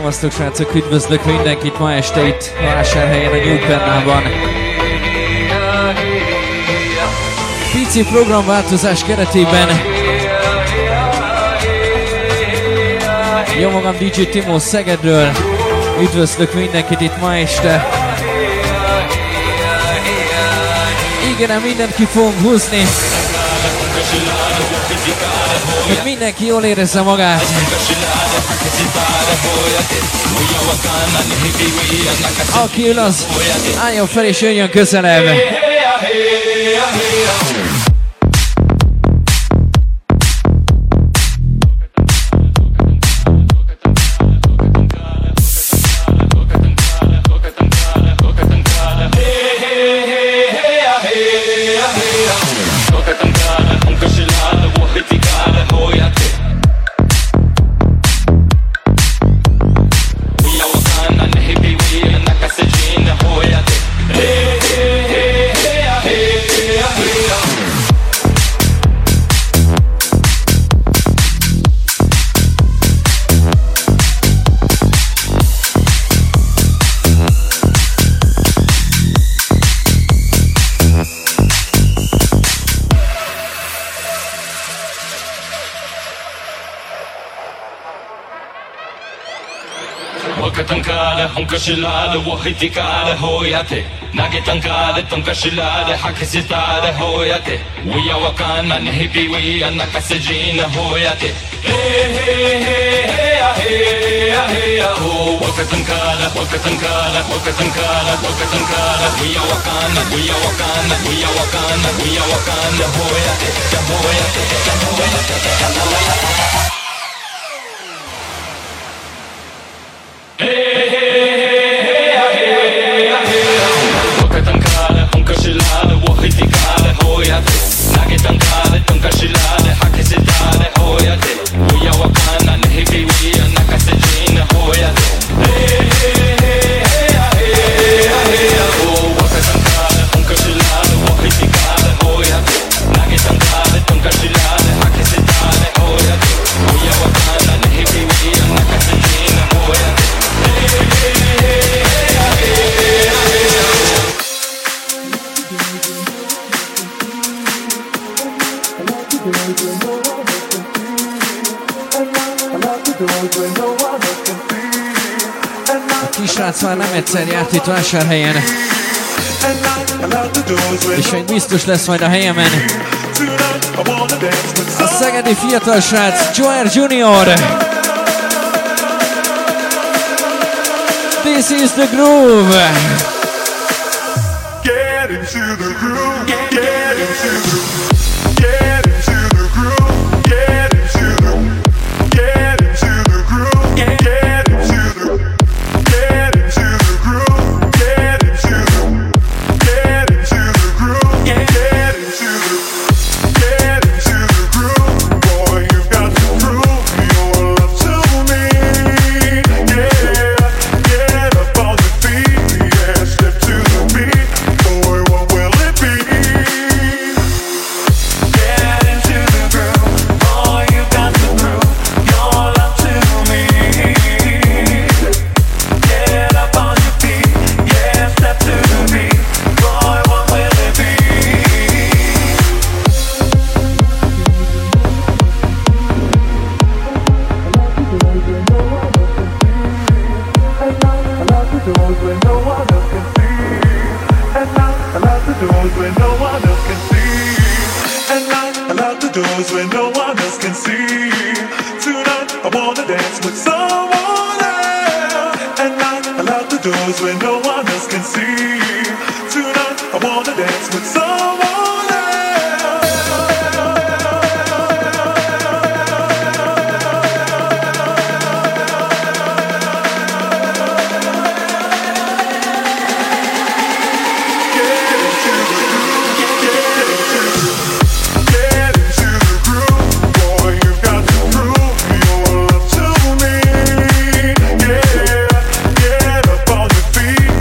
Szevasztok srácok, üdvözlök mindenkit ma este itt Vásárhelyen a New Pennában. Pici programváltozás keretében jó magam DJ Timo Szegedről, üdvözlök mindenkit itt ma este. Igen, mindent ki fogunk húzni, hogy mindenki jól érezze magát. Aki ül, az álljon fel és jöjjön közelebb. Shilale wahitikale hoyate nage tankale tonkashilale hakisitale hoyate wiya wakana nehibi wiya nakasejina hoyate hey hey hey hey hey hey ho wakatankala wakatankala wakatankala wakatankala wiya wakana wiya wakana wiya wakana wiya wakana hoyate hoyate hoyate nage tankale tonkashilale hakisitale hoyate wiya wakana nehibi wiya nakasejina hoyate hey hey hey hey hey ho wakatankale tonkashilale wahitikale hoyate nage tankale tonkashilale hakisitale hoyate wiya wakana nehibi wiya nakasejina hoyate hey hey hey A kisrác már nem egyszer járt itt Vásárhelyen, és még biztos lesz majd a helyemen. A szegedi fiatal srác Joer Junior. This is the groove. Get into the groove. Get into the groove. Get into the groove. Get into the get into the groove. Get into the get into the groove. Get into the get into the groove. Get into the get into the groove. Boy, you've got to prove your love to me. Yeah, get up on your feet. Yeah, step to the beat. Boy, what will it be? Get into the groove. Boy, you've got to prove your love to me. Get up on your feet. Yeah, step to the beat. Boy, what will it be? I lock the doors where no one else can see. At night, I lock the doors where no one else can see. At night, I lock the doors where no one else can see. Tonight, I wanna dance with someone else. At night, I lock the doors where no one else can see. Tonight, I wanna dance with someone else. Get into the groove, boy, you've got to prove your love to me. Yeah, get up on your feet.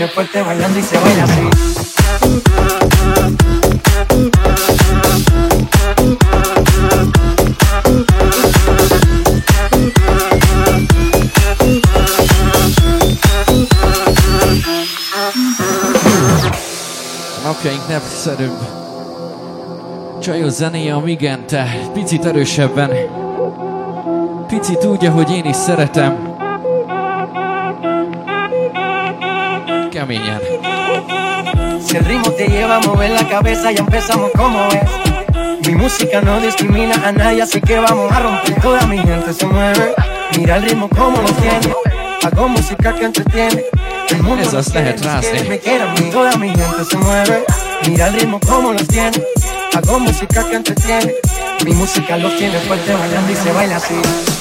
tiene fuerte bailando y se baila así. Napjaink népszerűbb csajos zenéje a Migente, picit erősebben. Picit tudja, hogy én is szeretem. Keményen. Si el ritmo te lleva a mover la cabeza, ya empezamos como es. Mi música no discrimina a nadie, así que vamos a romper. Toda mi gente se mueve, mira el ritmo como lo tiene. Hago música que entretiene. El mundo Esas nos quiere, lehet rázni. me quiere a mí. Toda mi gente se mueve, mira el ritmo como los tiene. Hago música que entretiene. Mi música los tiene fuerte bailando y se baila así.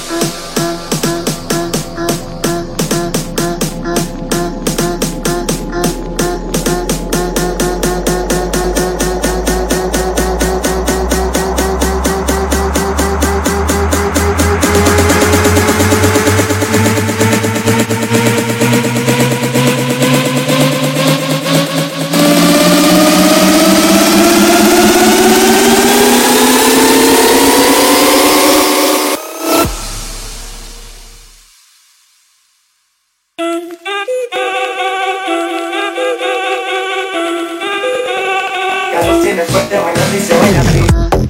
Tiene fuerte bailando y se baila así.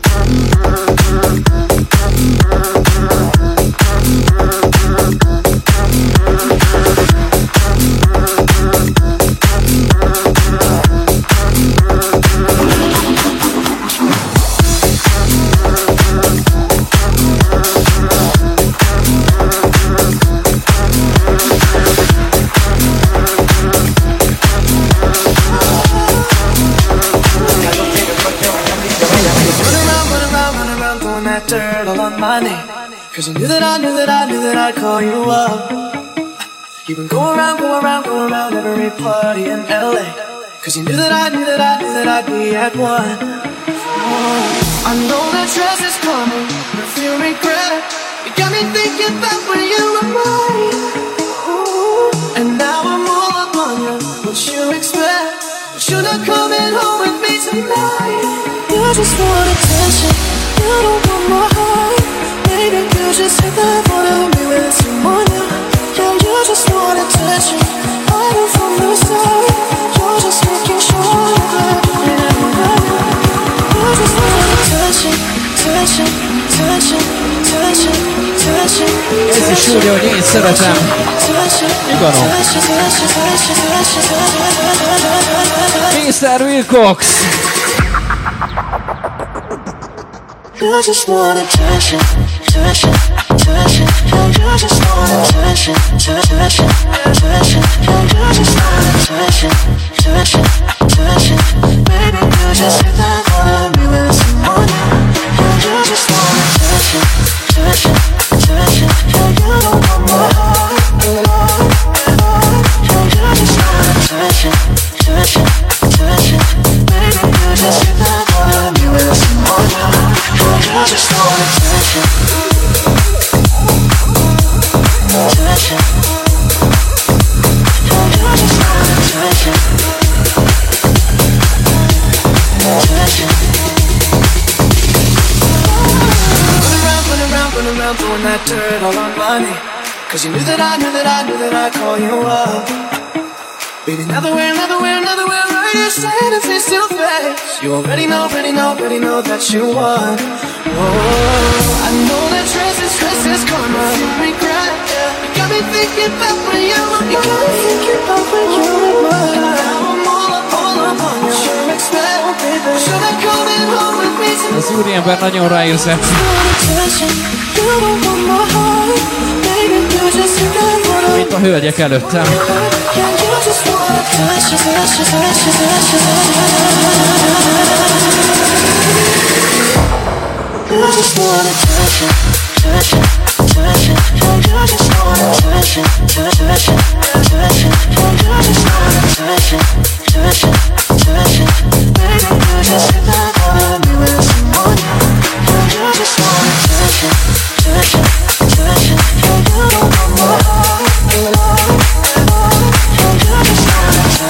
Cause you knew that I'd call you up. You've been going around every party in LA. Cause you knew that I'd be at one. Oh, I know that stress is coming, but feel regret. You got me thinking about when you were mine. Ooh, and now I'm all up on you. What you expect? But you're not coming home with me tonight. You just want attention, you don't want my heart. Maybe you just hit that wanna be with someone new. Yeah, you just want attention. I knew from the start. You're just making sure that you never know. You just want attention, attention, attention, attention, attention. Ez is úgy, hogy én szeretem. Iganom. Mr. Wilcox. You just want attention, attention, attention. You just want attention, attention, attention. You just want attention, attention, attention. Baby, you just hit that wanna be with someone new. You just want attention, attention, attention. You don't want my heart, you just want attention, attention, attention. Baby, you just hit that wanna be with someone new. I just want attention, attention. I just want attention, attention. Run around, throwing that dirt all on my knee. Cause you knew that I'd call you up. Baby, another way, right here, standing face to face. You already know that you won. Oh, I know that stress is karma. You regret, you got me thinking about when you were mine. You got me thinking about when you were mine. And now I'm all up on you. What you expect, baby? Should I coming home with me tonight? Az úriember nagyon ráérzett. Mint a hölgyek előttem. You just want attention, attention, attention. You just want attention, attention, attention. You just want attention, attention, attention. Baby, you just hit that wanna be with someone new. You just want attention, attention, attention. You don't want my heart, you just want attention.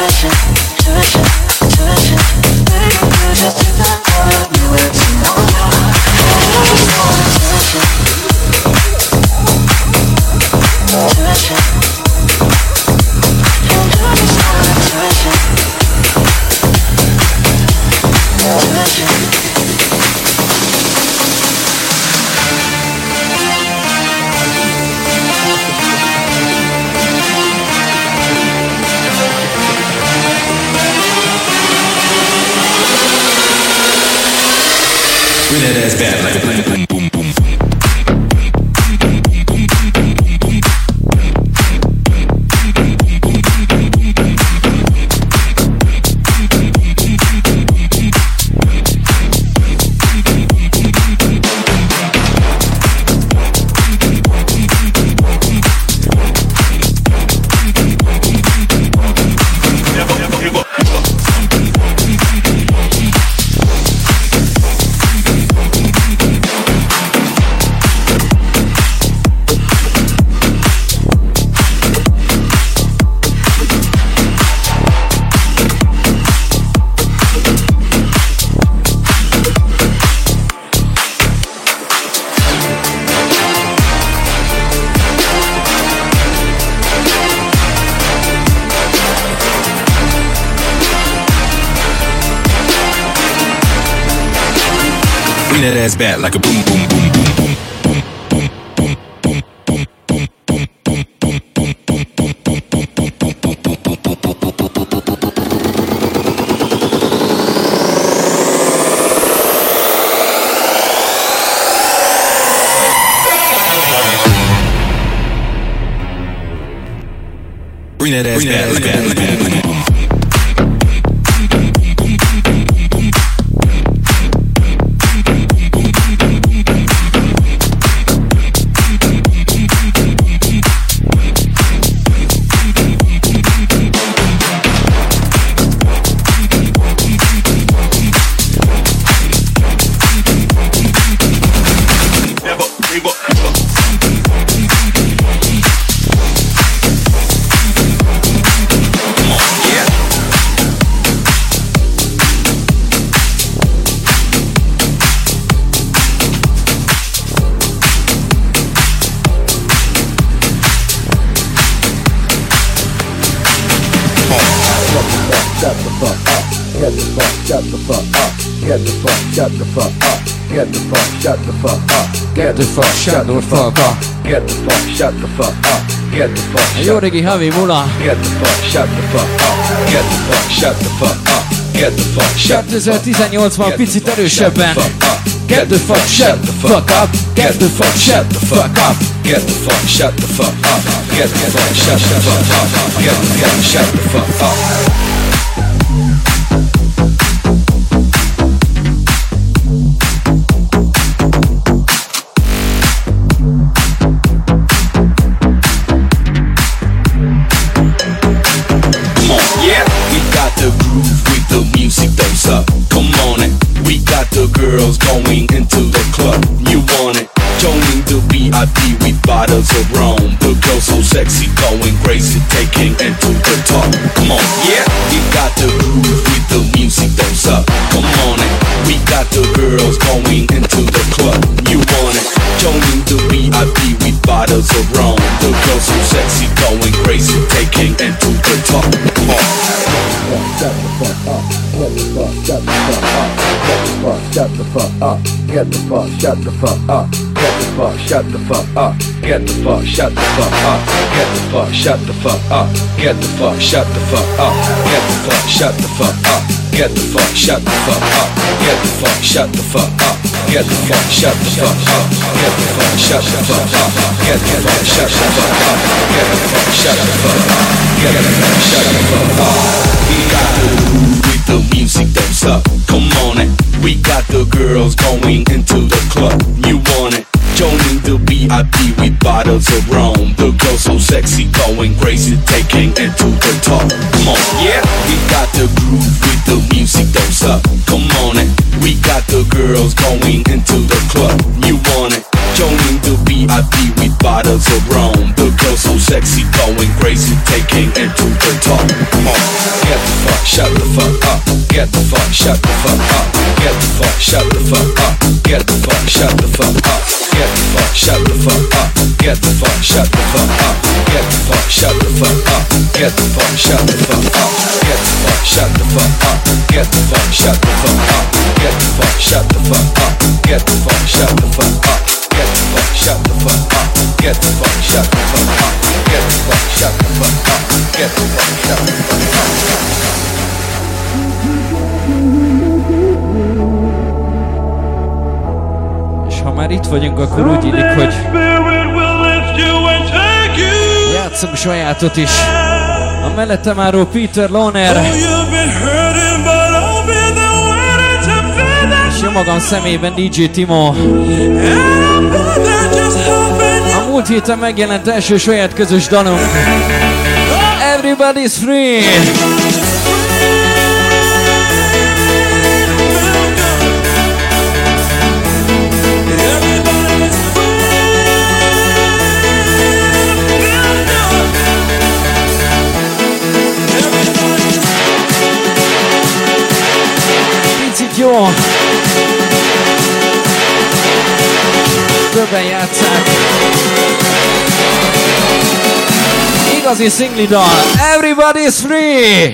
Bring that ass back like a boom, boom, boom, boom. Bring that ass back like a boom, boom, boom, boom, boom. Bring that ass back like a boom, boom, boom, boom. Shut the fuck up. Get the fuck, shut the fuck up. Get the fuck, shut the fuck up. Get the fuck, shut the fuck up. Get the fuck, shut the fuck up. Get the fuck, Jó régi Havi Mula. Get the fuck, shut the fuck up. Get the fuck, shut the fuck up. Get the fuck, shut the fuck up. 2018-ban picit erősebben. Get the fuck, shut the fuck up. Get the fuck, shut the fuck up. Get the fuck, shut the fuck up. Get the fuck, shut the fuck up. Get the fuck, shut the fuck up. Come on it, we got the girls going into the club. You want it? Joining the VIP with bottles of rum. The girls so sexy, going crazy, taking it to the top. Come on, yeah, we got the groove with the music that's up. Come on it, we got the girls going into the club. You want it? Joining the VIP with bottles of rum. The girls so sexy, going crazy, taking it to the top. Come on. Shut the fuck up. Get the fuck, shut the fuck up. Get the fuck, shut the fuck up. Get the fuck, shut the fuck up. Get the fuck, shut the fuck up. Get the fuck, shut the fuck up. Get the fuck, shut the fuck up. Get the fuck, shut the fuck up. Get the fuck, shut the fuck up. Get the fuck, shut the fuck up. Get the fuck, shut the fuck up. Get the fuck, shut the fuck up. Get the fuck, shut the fuck up. Get the fuck, shut the fuck up. Get the fuck, shut the fuck up. Get the fuck, shut the fuck up. We got the groove with the music that's up. Come on it, we got the girls going into the club. You want it? Joining the VIP with bottles of rum. The girls so sexy, going crazy, taking it to the top. Come on, yeah, we got the groove with the music that's up. Come on it, we got the girls going into the club. You want it? Joining the VIP with bottles of rum. The girls so sexy, going crazy, taking it to the top. Come on, get the fuck, shut the fuck up. Get the fuck, shut the fuck up. Get the fuck, shut the fuck up. Get the fuck, shut the fuck up. Get the fuck, shut the fuck up. Get the fuck, shut the fuck up. Get the fuck, shut the fuck up. Get the fuck, shut the fuck up. Get the fuck, shut the fuck up. Get the fuck, shut the fuck up. Get the fuck, shut the fuck up. Get the fuck, shut the fuck up. Get the fuck, shut the fuck up. Get the fuck, shut the fuck up. Get the fuck, shut the fuck up. Get the fuck, shut the fuck up. már itt vagyunk, akkor úgy illik, hogy játszom sajátot is. A mellettem álló Peter Lohner, és jó magam személyben DJ Timo. A múlt héten megjelent első saját közös dalunk, Everybody's Free. Jó! Többen játsszák. Igazi szingli dal. Everybody's free!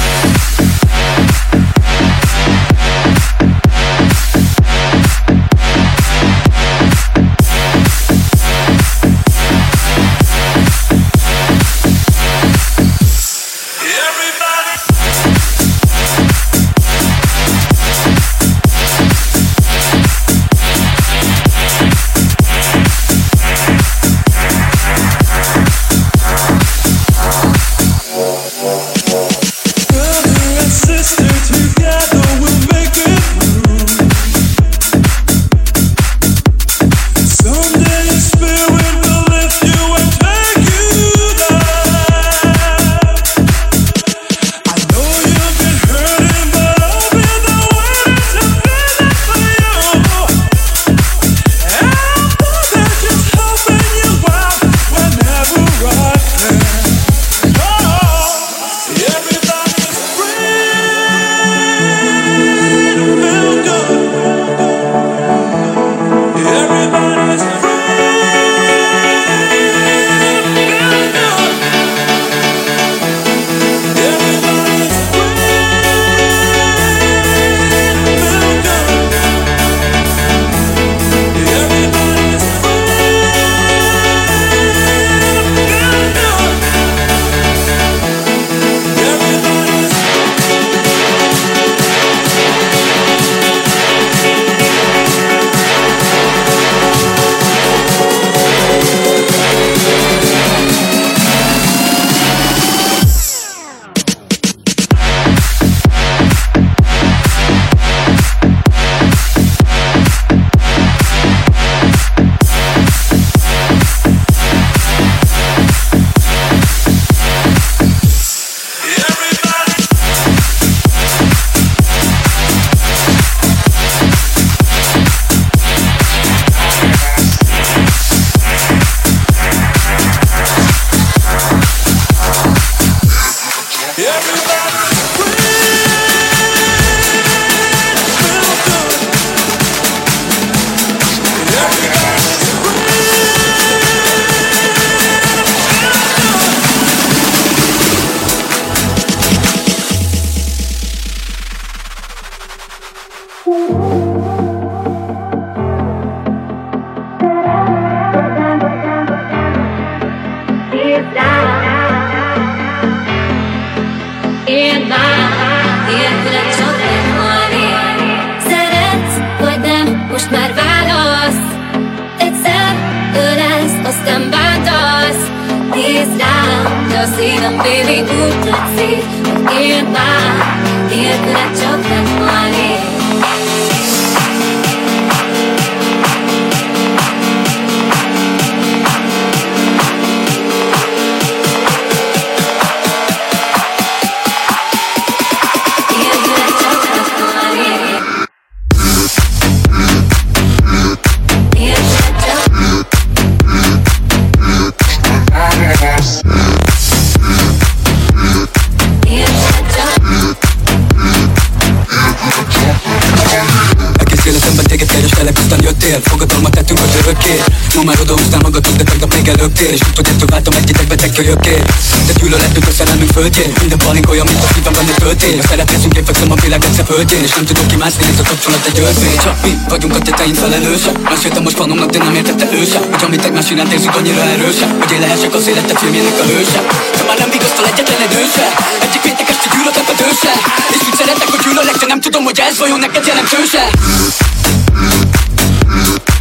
Fogadalmat tettünk az örökké. Ma már odaúztál magadhoz, de tegnap még előttél. És tudod, ettől váltam egy-egy beteg kölyökért. De gyűlöletünk a szerelmünk földjén. Minden palink olyan, mint a szívemben egy töltény. A szeretnézünk, én fekszem a világ egyszer földjén. És nem tudok kimászni, ez a kapcsolat egy örvény. Csak mi vagyunk a tetein felelősek. Meséltem most fanomnak, de nem értette ő sem. Hogy amit egymás iránt érzünk annyira erősek, hogy én lehessek az életed filmjének a hőse. De már nem vigasztal egyetlen egy őse. Egyik péntek este gyűlölök a dőse. És úgy szeretek, hogy gyűlölek, de nem tudom, hogy ez vajon neked jelentőse.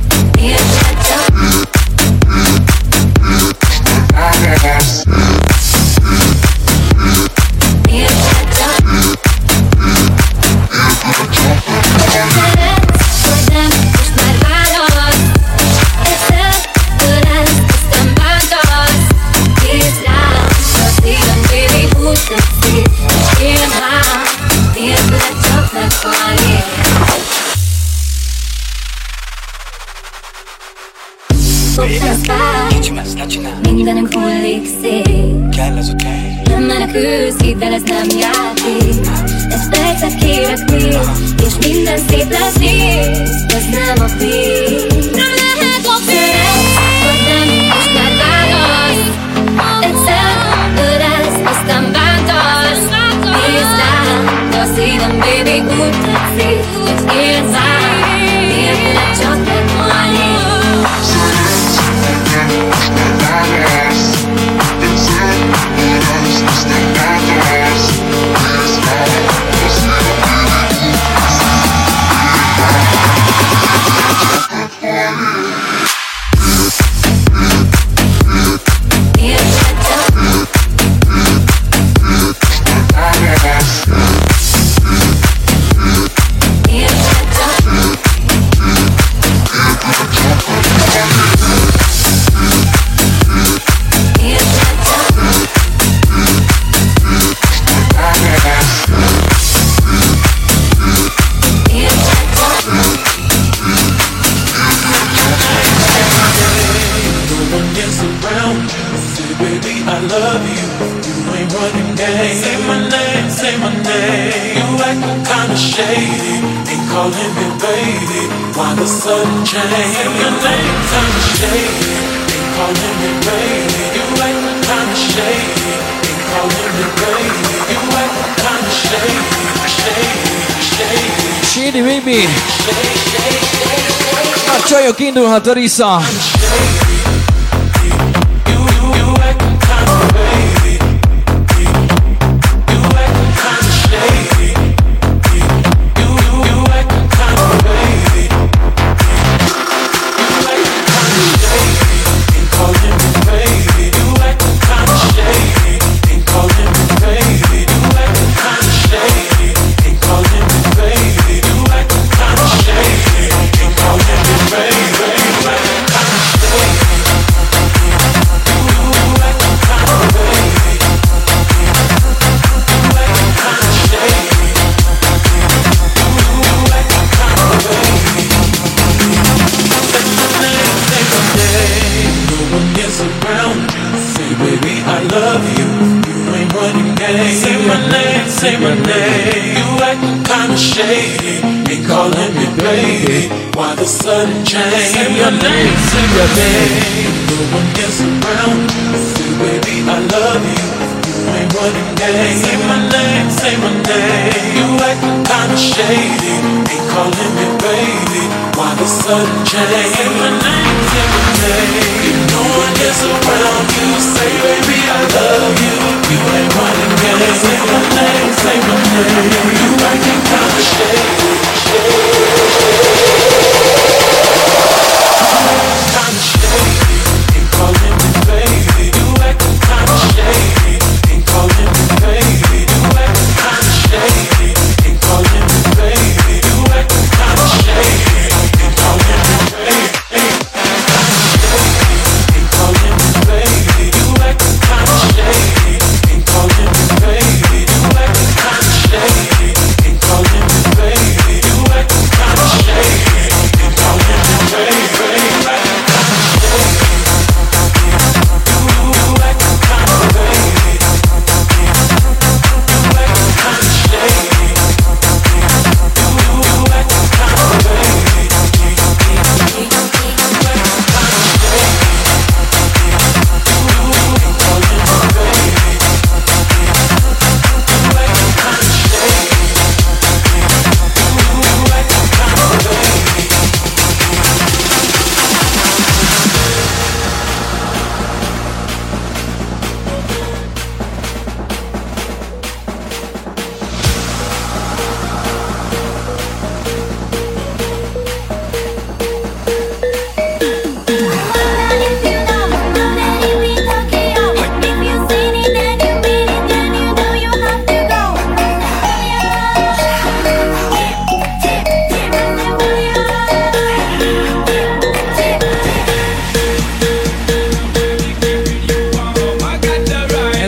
Mindenem hullik szét. Kell az után. Nem menekülsz, hidd el, ez nem játék. Egy percet kérek még, és minden szép lesz, nézd, ez nem a vég. Nem lehet a vég. Vagy nem, most már válasz. Egyszer ölelsz, aztán bántasz. Nézd rám, de a szívem, baby, úgy tetszik, hogy élsz rám. Nélküled csak meghalni. Shady baby! A csajok indulhat a Risa!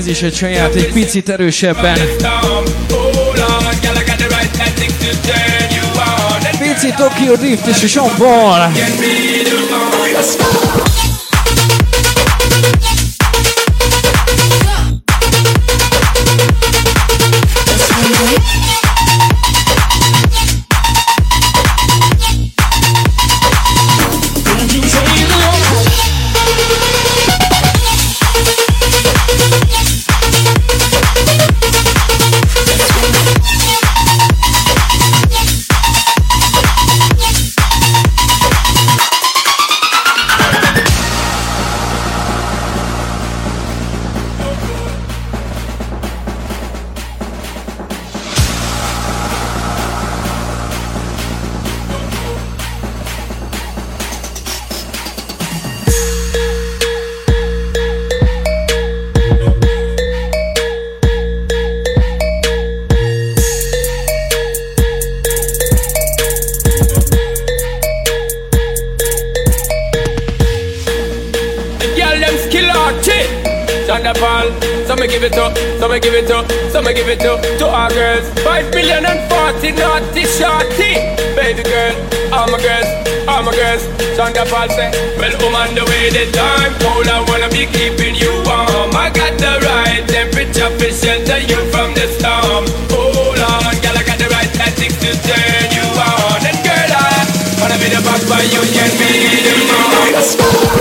ez is egy saját, egy picit erősebben. Pici Tokyo Drift és a Sean Paul. To our girls, 5 million and 40 naughty shorty. Baby girl, all my girls, Shonda Paul say, well, I'm on the way the time cold, I wanna be keeping you warm. I got the right temperature to shelter you from the storm. Hold on, girl, I got the right tactics to turn you on. And girl, I wanna be the boss, but you can be the mom.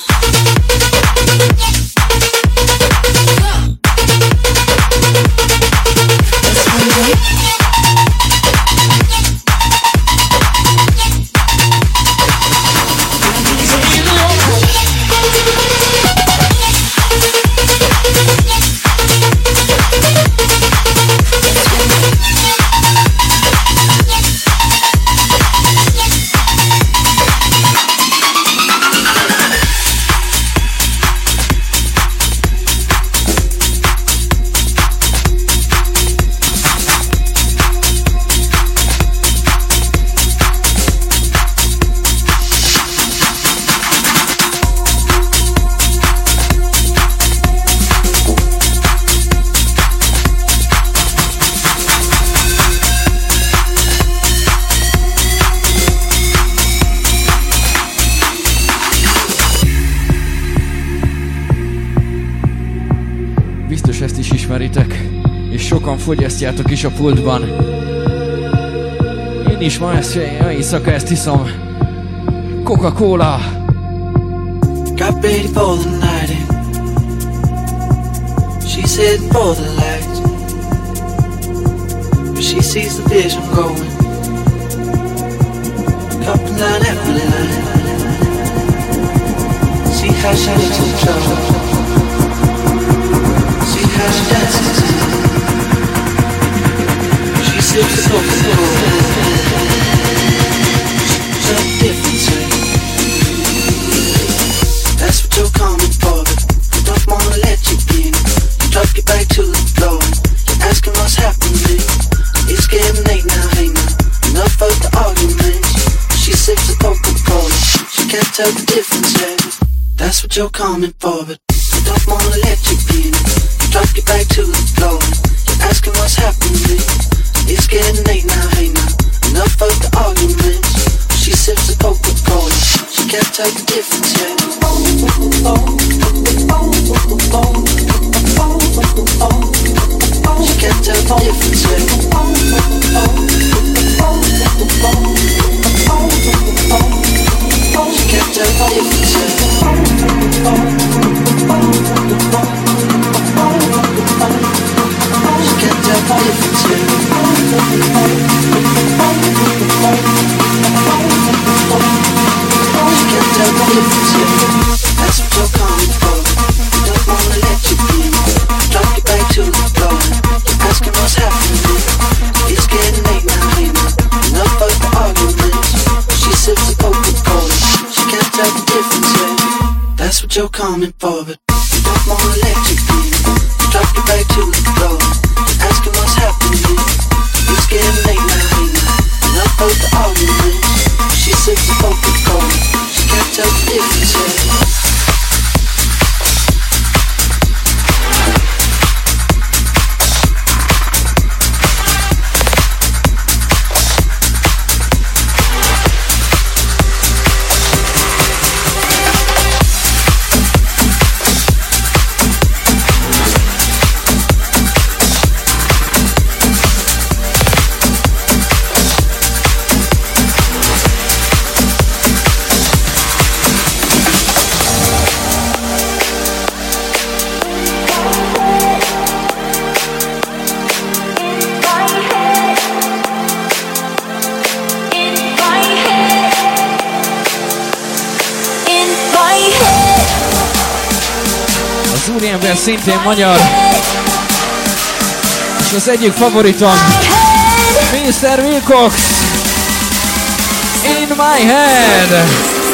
És sokan fogyasztjátok is a pultban. Én is ma éjszaka ezt iszom. Coca-Cola. Got ready for the night. She's heading for the lights, but she sees the vision going. Cupping down every line. See how she looks in trouble. See how she dances. She sips the Coca-Cola. She's a different thing. That's what you're coming for, but I don't wanna let you in. You drop your back to the floor. You're asking what's happening. It's getting late now, hey now. Enough of the arguments. She sips the Coca-Cola. She can't tell the difference, yeah. That's what you're coming for, but I don't wanna let you in. You drop your back to the floor. You're asking what's happening. It's getting late now, hey now. Enough of the arguments. She sips the Coca-Cola. She can't tell the difference, yeah. She can't tell the difference, yeah. She can't tell the difference, yeah. She can't tell the difference, yeah. She can't tell the difference, yeah. That's what you're coming for. Don't wanna let you in. Drop your back to the floor. You're asking what's happening. It's getting late now, hey now. Enough of the arguments. She sips the Coca-Cola. She can't tell the difference, yeah. That's what you're coming for, but don't wanna let you in. Drop your back to the floor. You're asking what's happening. It's getting late now, hey now. Enough of the arguments. She sips the Coca-Cola. She can't tell the difference, yeah. az úriember szintén magyar. És az egyik favoritom, Mr. Wilcox, In My Head.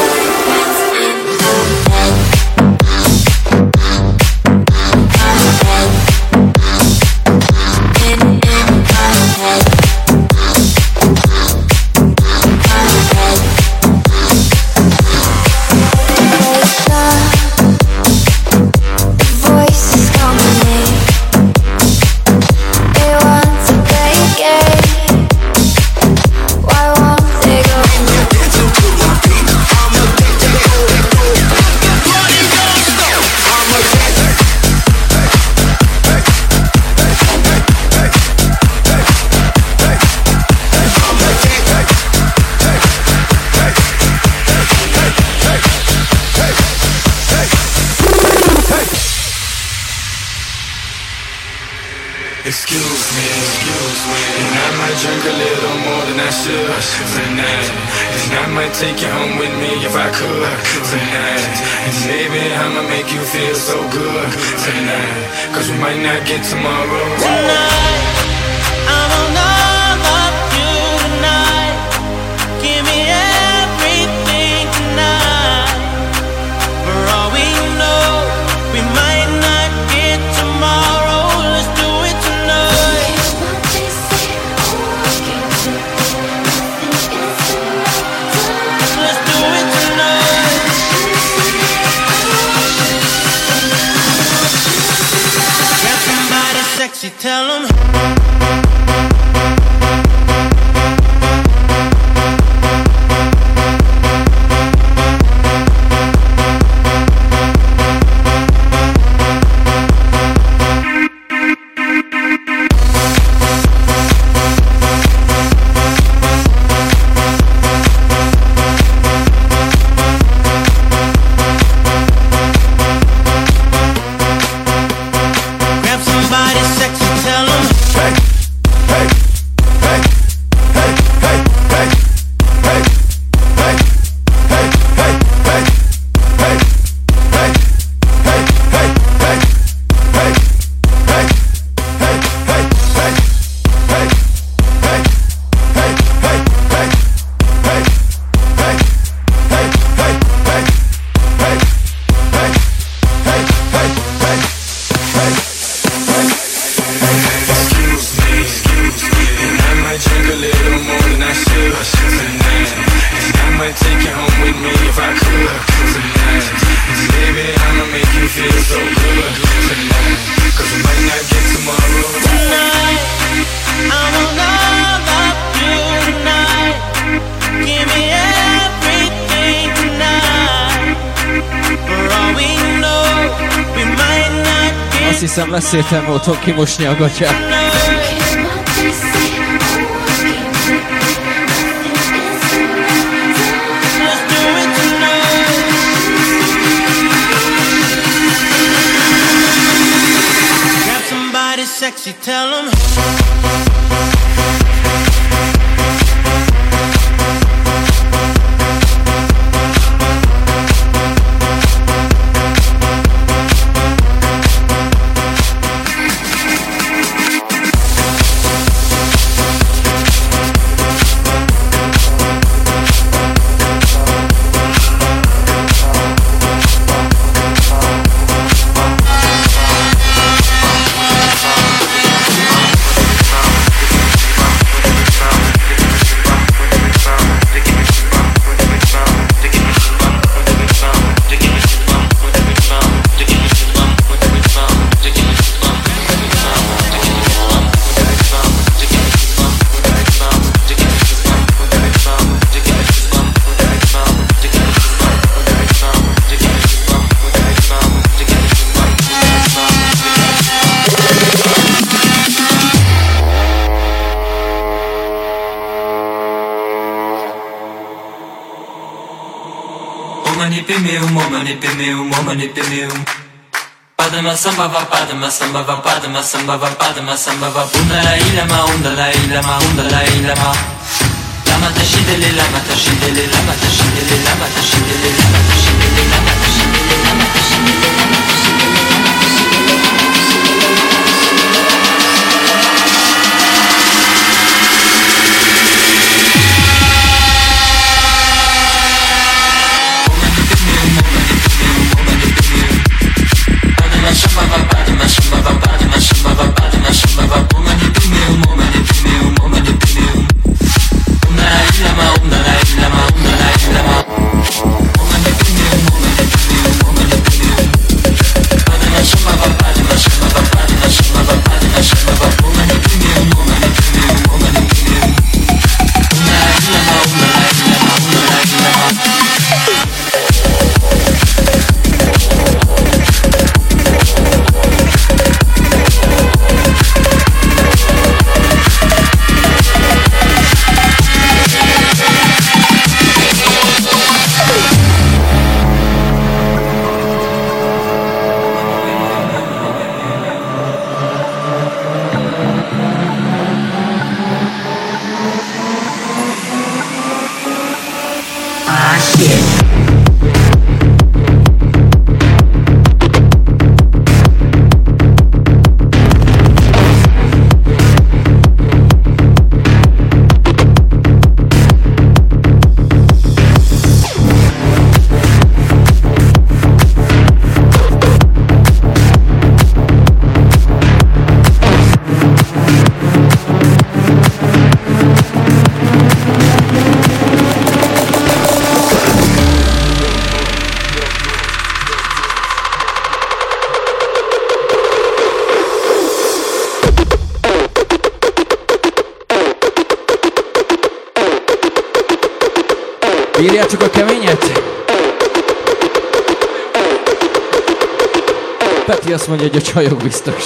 Excuse me, and I might drink a little more than I should tonight. And I might take you home with me if I could tonight. And maybe I'ma make you feel so good tonight. Cause we might not get tomorrow. Tonight, I will not love you tonight. Give me everything tonight. For all we know, we might not get tomorrow. Let's do it tonight. Let's do it tonight. Grab somebody sexy, tell 'em. Grab somebody sexy, tell 'em. Excuse me, and I might drink a little more than I should tonight. And I might take you home with me if I could tonight. And maybe I'ma make you feel so good tonight. Cause we might not get tomorrow. Tonight, I will not love you tonight. Give me everything tonight. For all we know, we might not get Azt hiszem lesz értelme otthon kimosni a gatyát. Let's do it tonight. Grab somebody sexy, tell 'em. Padma samba va, padma samba va, padma samba va, padma samba va. Undala ilama, undala ilama, undala ilama. Lama tashidele, lama tashidele, lama tashidele, lama tashidele, lama tashidele, lama tashidele, lama tashidele, lama tashidele. Bírjátok a keményet? Peti azt mondja, hogy a csajok biztos.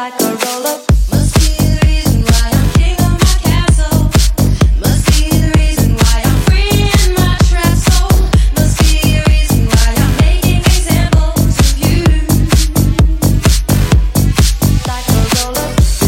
like a roller. Must be the reason why I'm king of my castle. Must be the reason why I'm free in my trap soul. Must be the reason why I'm making examples of you. Like a roller.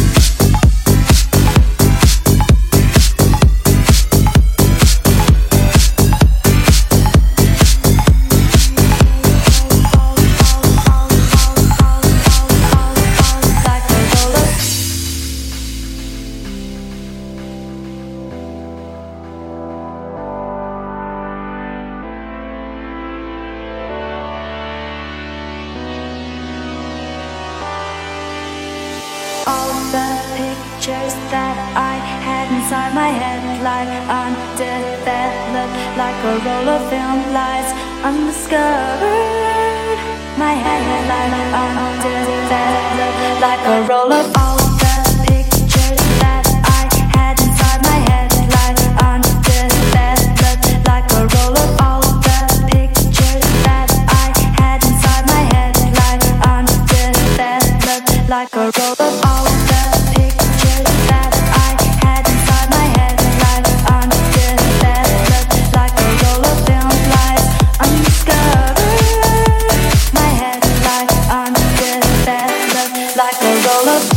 All the pictures that I had inside my head, like undeveloped, like a roll of film, lies undiscovered. My head, like undeveloped, like a roll of all the pictures that I had inside my head, like undeveloped, like a roll of all the pictures that I had inside my head, like undeveloped, like a roll of all the pictures that I had inside my head, like undeveloped, like a roll of film, lies undiscovered. My head, like undeveloped, like a roll of.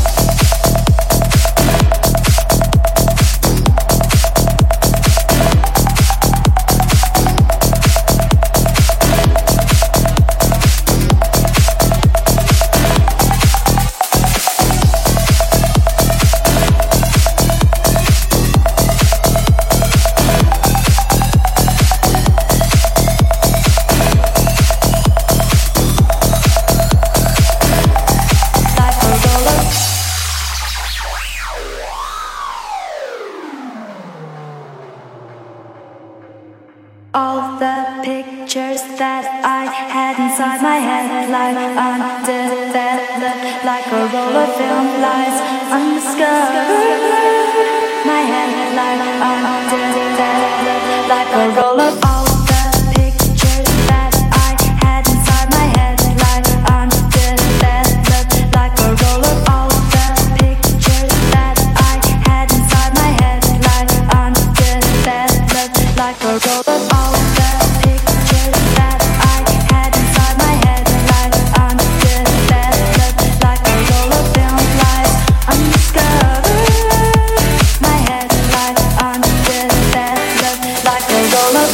All the pictures that I had inside my head, like undeveloped, like a roll of film, lies undiscovered. My head, like undeveloped, like a roll of all the pictures that I had inside my head, like undeveloped, like a roll of all the pictures that I had inside my head, like undeveloped, like a roll of all the pictures that I had inside my head, like undeveloped, like a roll of film, lies undiscovered. My head, like undeveloped, like a roll of.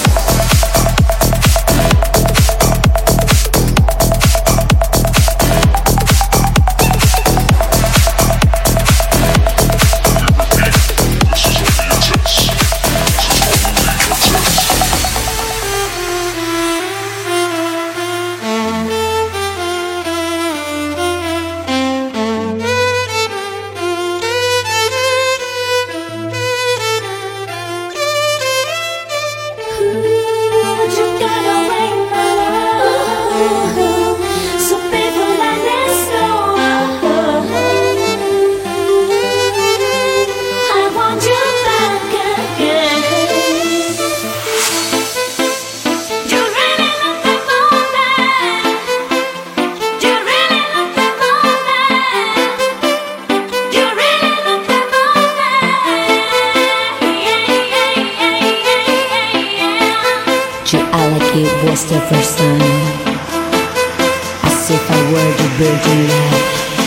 Was the first time, as if I were the virgin lad.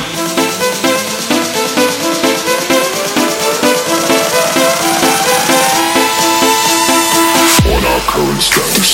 On our current status.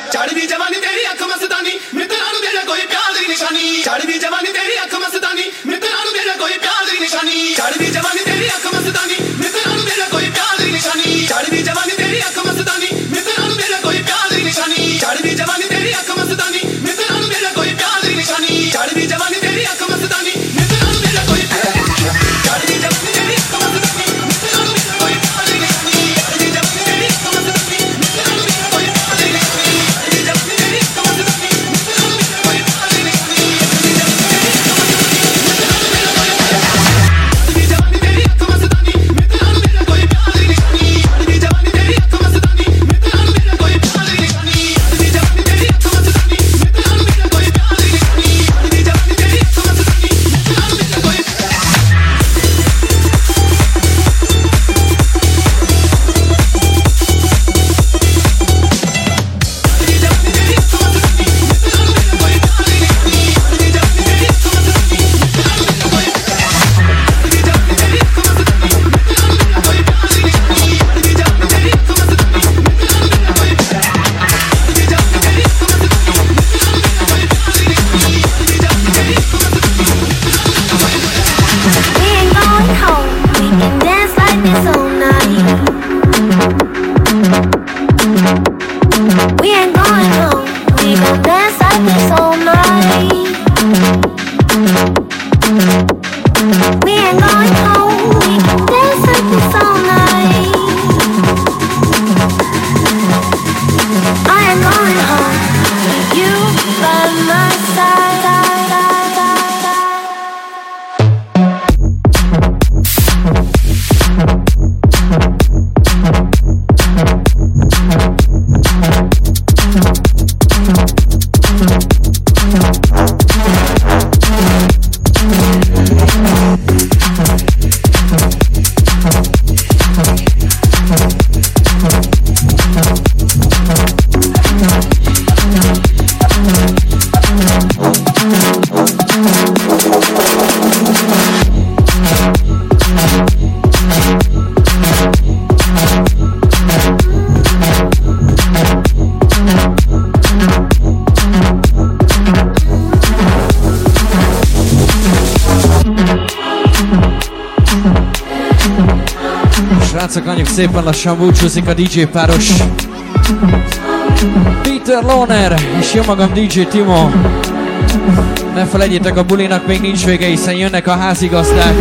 चढ़ी जवानी तेरी अख मस्तानी मित्रानु तेरा कोई प्यार दी निशानी चढ़ी जवानी तेरी अख मस्तानी मित्रानु तेरा कोई प्यार दी निशानी चढ़ी जवानी तेरी अख मस्तानी मित्रानु तेरा कोई प्यार दी निशानी चढ़ी जवानी तेरी अख मस्तानी मित्रानु तेरा कोई प्यार दी निशानी चढ़ी जवानी तेरी अख मस्तानी मित्रानु तेरा कोई प्यार दी निशानी चढ़ी जवानी तेरी अख मस्तानी मित्रानु तेरा कोई प्यार दी निशानी चढ़ी जवानी तेरी अख मस्तानी मित्रानु तेरा कोई प्यार दी निशानी चढ़ी जवानी तेरी अख मस्तानी मित्रानु तेरा कोई प्यार दी निशानी चढ़ी जवानी तेरी अख मस्तानी मित्रानु तेरा कोई प्यार दी निशानी चढ़ी जवानी तेरी अख मस्तानी मित्रानु तेरा कोई प्यार दी निशानी चढ़ी जवानी तेरी अख मस्तानी मित्रानु तेरा कोई प्यार दी निशानी चढ़ी जवानी तेरी अख मस्तानी मित्रानु तेरा कोई प्यार दी निशानी चढ़ी जवानी तेरी अख मस्तानी मित्रानु तेरा कोई Srácok, anyag szépen lassan búcsúzik a DJ páros Peter Lohner és jó magam DJ Timo. Ne felejtjétek, a bulinak még nincs vége, hiszen jönnek a házigazdák.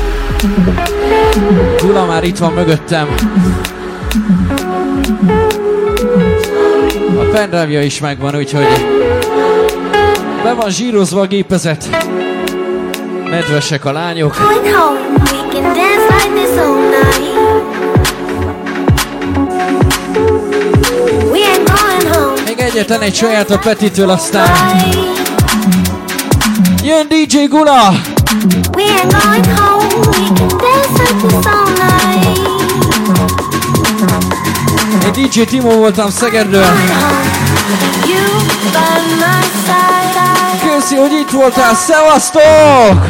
Gula már itt van mögöttem. A pendrive-ja is megvan, úgyhogy be van zsírozva a gépezet. Nedvesek a lányok. Még egyetlen egy saját a Petitől, aztán jön DJ Gula. Én DJ Timo voltam Szegedről. Köszi, hogy itt voltál, szevasztok!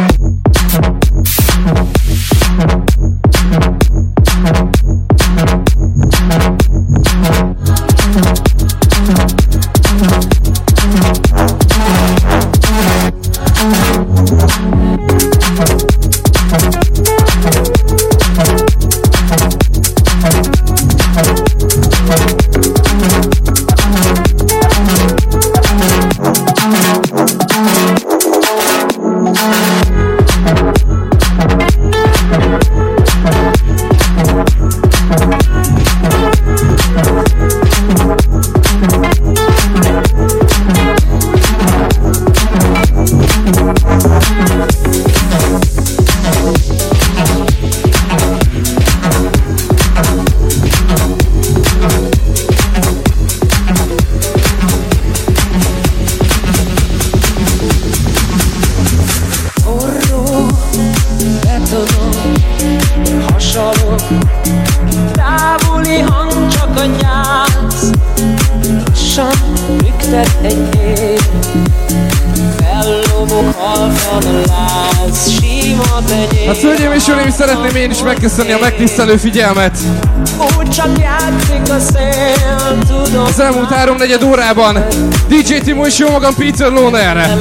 Hát hölgyeim és uraim, szeretném én is megköszönni a megtisztelő figyelmet. Úgy csak játszik a szél, Az elmúlt 3-4 órában DJ Timo és jó magam Peter Loner.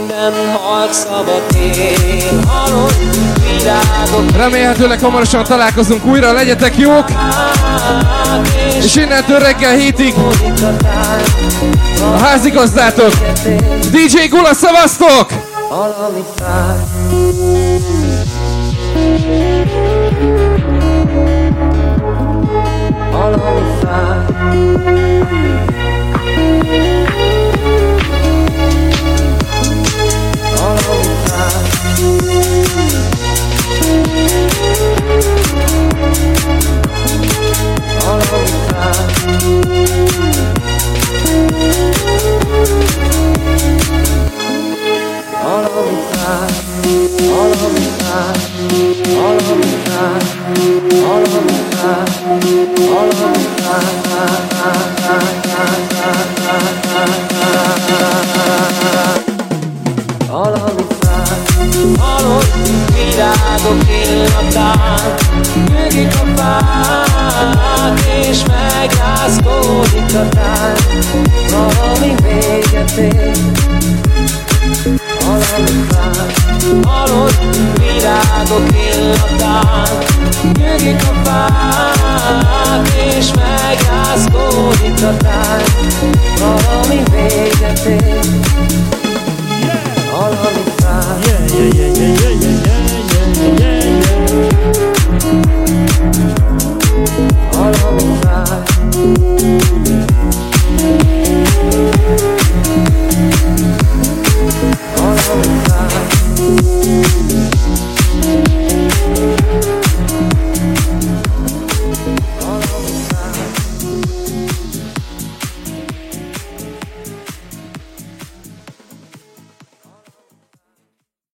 Remélhetőleg hamarosan találkozunk újra, legyetek jók! És innentől reggel 7-ig a házigazdátok DJ Gula, szavaztok! Virágok illatán nyögik a fák, és megrázkódik a tánc. Valami véget ér, valami fák. Halott virágok illatán nyögik a fák, és megrázkódik a tánc. Valami